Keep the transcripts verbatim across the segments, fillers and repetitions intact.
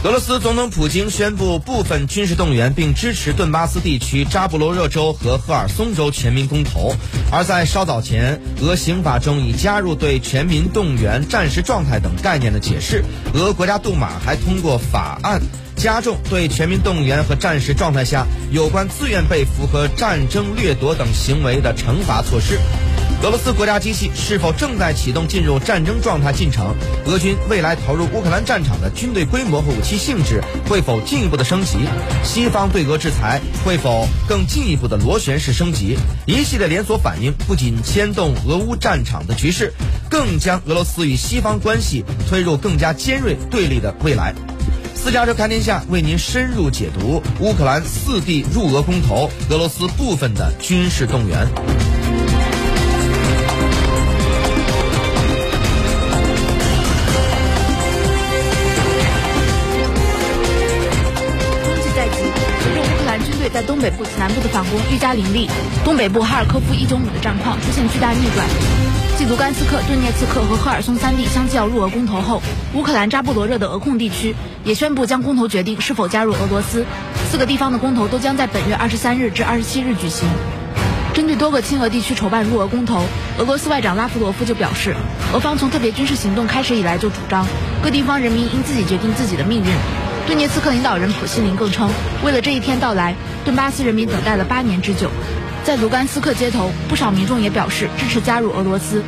俄罗斯总统普京宣布部分军事动员，并支持顿巴斯地区扎布罗热州和赫尔松州全民公投。而在稍早前，俄刑法中已加入对全民动员、战时状态等概念的解释。俄国家杜马还通过法案，加重对全民动员和战时状态下有关自愿被俘和战争掠夺等行为的惩罚措施。俄罗斯国家机器是否正在启动进入战争状态进程？俄军未来投入乌克兰战场的军队规模和武器性质会否进一步的升级？西方对俄制裁会否更进一步的螺旋式升级？一系列连锁反应不仅牵动俄乌战场的局势，更将俄罗斯与西方关系推入更加尖锐对立的未来。私家车看天下为您深入解读乌克兰四地入俄公投，俄罗斯部分的军事动员。 在东北部及南部的反攻愈加凌厉，东北部哈尔科夫一周米的战况出现巨大逆转。继卢甘斯克、顿涅茨克和赫尔松三地相继要入俄公投后，乌克兰扎波罗热的俄控地区也宣布将公投决定是否加入俄罗斯。四个地方的公投都将在本月二十三日至二十七日举行。针对多个亲俄地区筹办入俄公投，俄罗斯外长拉夫罗夫就表示，俄方从特别军事行动开始以来就主张各地方人民应自己决定自己的命运。顿涅茨克领导人普希林更称，为了这一天到来，顿巴斯人民等待了八年之久。在卢甘斯克街头，不少民众也表示支持加入俄罗斯。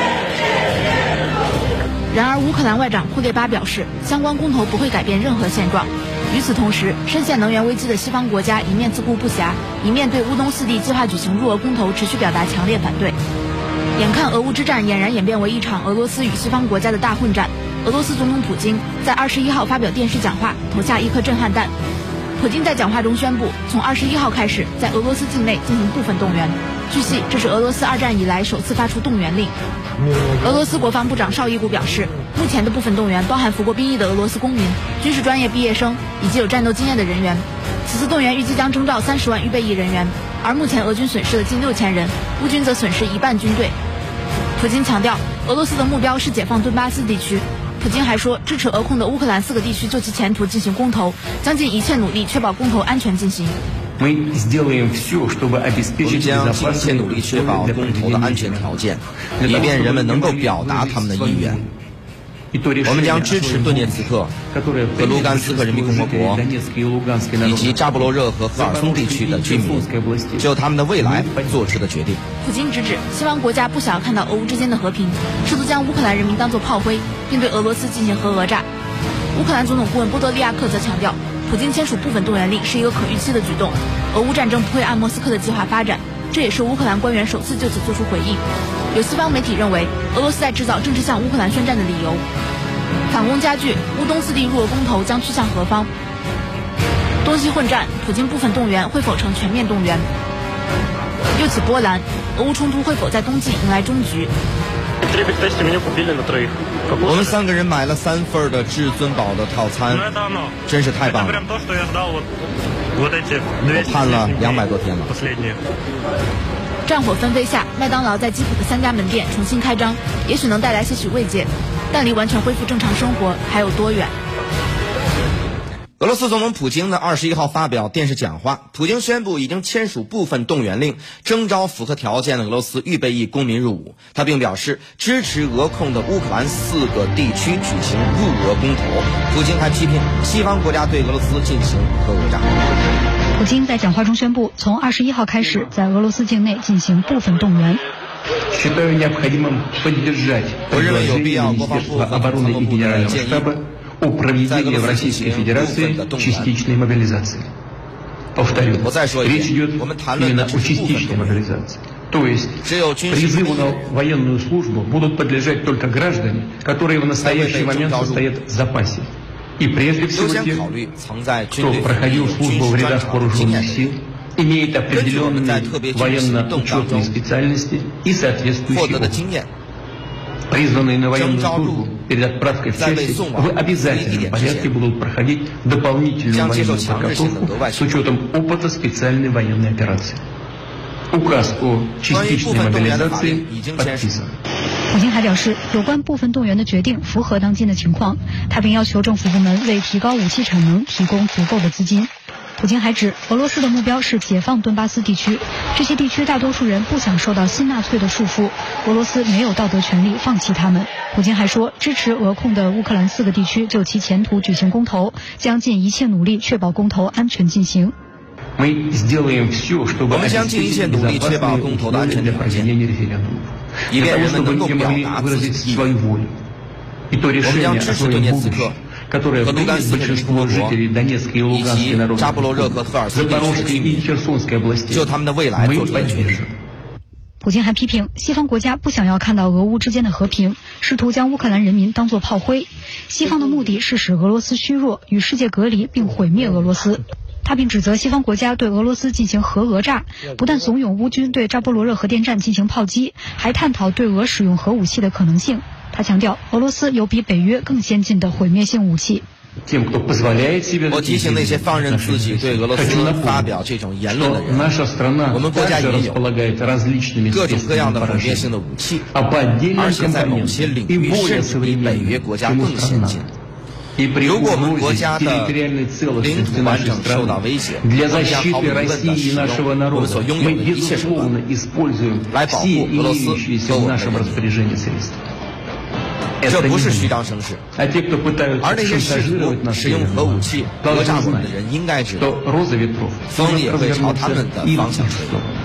然而，乌克兰外长库列巴表示，相关公投不会改变任何现状。与此同时，深陷能源危机的西方国家一面自顾不暇，一面对乌东四地计划举行入俄公投持续表达强烈反对。眼看俄乌之战俨然演变为一场俄罗斯与西方国家的大混战，俄罗斯总统普京在二十一号发表电视讲话，投下一颗震撼弹。普京在讲话中宣布，从二十一号开始，在俄罗斯境内进行部分动员。据悉，这是俄罗斯二战以来首次发出动员令。俄罗斯国防部长绍伊古表示，目前的部分动员包含服过兵役的俄罗斯公民、军事专业毕业生以及有战斗经验的人员。此次动员预计将征召三十万预备役人员，而目前俄军损失了近六千人，乌军则损失一半军队。普京强调，俄罗斯的目标是解放顿巴斯地区。普京还说，支持俄控的乌克兰四个地区就其前途进行公投，将尽一切努力确保公投安全进行。 我们将尽一切努力确保公投的安全条件，以便人们能够表达他们的意愿。我们将支持顿涅茨克和卢甘斯克人民共和国以及扎波罗热和赫尔松地区的居民就他们的未来做出的决定。 普京直指西方国家不想要看到俄乌之间的和平，试图将乌克兰人民当作炮灰，并对俄罗斯进行核讹诈。乌克兰总统顾问波多利亚克则强调，普京签署部分动员令是一个可预期的举动，俄乌战争不会按莫斯科的计划发展，这也是乌克兰官员首次就此做出回应。有西方媒体认为，俄罗斯在制造正式向乌克兰宣战的理由。反攻加剧，乌东四地入俄公投将去向何方？东西混战，普京部分动员会否成全面动员？又起波澜，俄乌冲突会否在冬季迎来终局？ 我们三个人买了三份的至尊宝的套餐，真是太棒了！我盼了两百多天了。 战火纷飞下，麦当劳在基辅的三家门店重新开张，也许能带来些许慰藉，但离完全恢复正常生活还有多远？ 俄罗斯总统普京呢，二十一号发表电视讲话，普京宣布已经签署部分动员令，征召符合条件的俄罗斯预备役公民入伍。他并表示支持俄控的乌克兰四个地区举行入俄公投。普京还批评西方国家对俄罗斯进行核讹诈。 普京在讲话中宣布，从二十一号开始，在俄罗斯境内进行部分动员。 我认为有必要，国防部和国防部的建议。在俄罗斯进行部分的动员。我再说一遍，我们谈论的只是部分动员。只有军事兵役优先考虑曾在军队服役的军事专长经验的人。根据我们在特别军事行动当中获得的经验，征召入伍在被送往服役地点之前，将接受强制性的额外训练。关于部分动员的法令已经签署。 普京还表示，有关部分动员的决定符合当今的情况，他并要求政府部门为提高武器产能提供足够的资金。普京还指，俄罗斯的目标是解放顿巴斯地区，这些地区大多数人不想受到新纳粹的束缚，俄罗斯没有道德权利放弃他们。普京还说，支持俄控的乌克兰四个地区就其前途举行公投，将尽一切努力确保公投安全进行。 我们将尽一切努力确保公投的安全条件，以便人们能够表达自己的意愿。我们将支持顿涅茨克和卢甘斯克人共和国以及扎波罗热和赫尔松地区的居民就他们的未来做出决定。 普京还批评西方国家不想要看到俄乌之间的和平，试图将乌克兰人民当作炮灰。西方的目的是使俄罗斯虚弱，与世界隔离，并毁灭俄罗斯。他并指责西方国家对俄罗斯进行核讹诈，不但怂恿乌军对扎波罗热核电站进行炮击，还探讨对俄使用核武器的可能性。他强调，俄罗斯有比北约更先进的毁灭性武器。 我提醒那些放任自己对俄罗斯发表这种言论的人，我们国家也有各种各样的毁灭性的武器，而且在某些领域甚至比北约国家更先进。如果我们国家的领土完整受到威胁，我们将毫无疑问地使用我们所拥有的一切手段来保护俄罗斯和我们的人民。这不是虚张声势，而那些试图使用核武器讹诈我们的人应该知道，风也会朝他们的方向吹。